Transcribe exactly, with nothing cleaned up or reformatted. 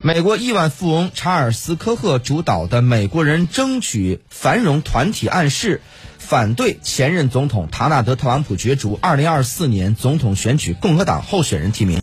美国亿万富翁查尔斯·科赫主导的美国人争取繁荣团体暗示，反对前任总统唐纳德·特朗普角逐二零二四年总统选举共和党候选人提名。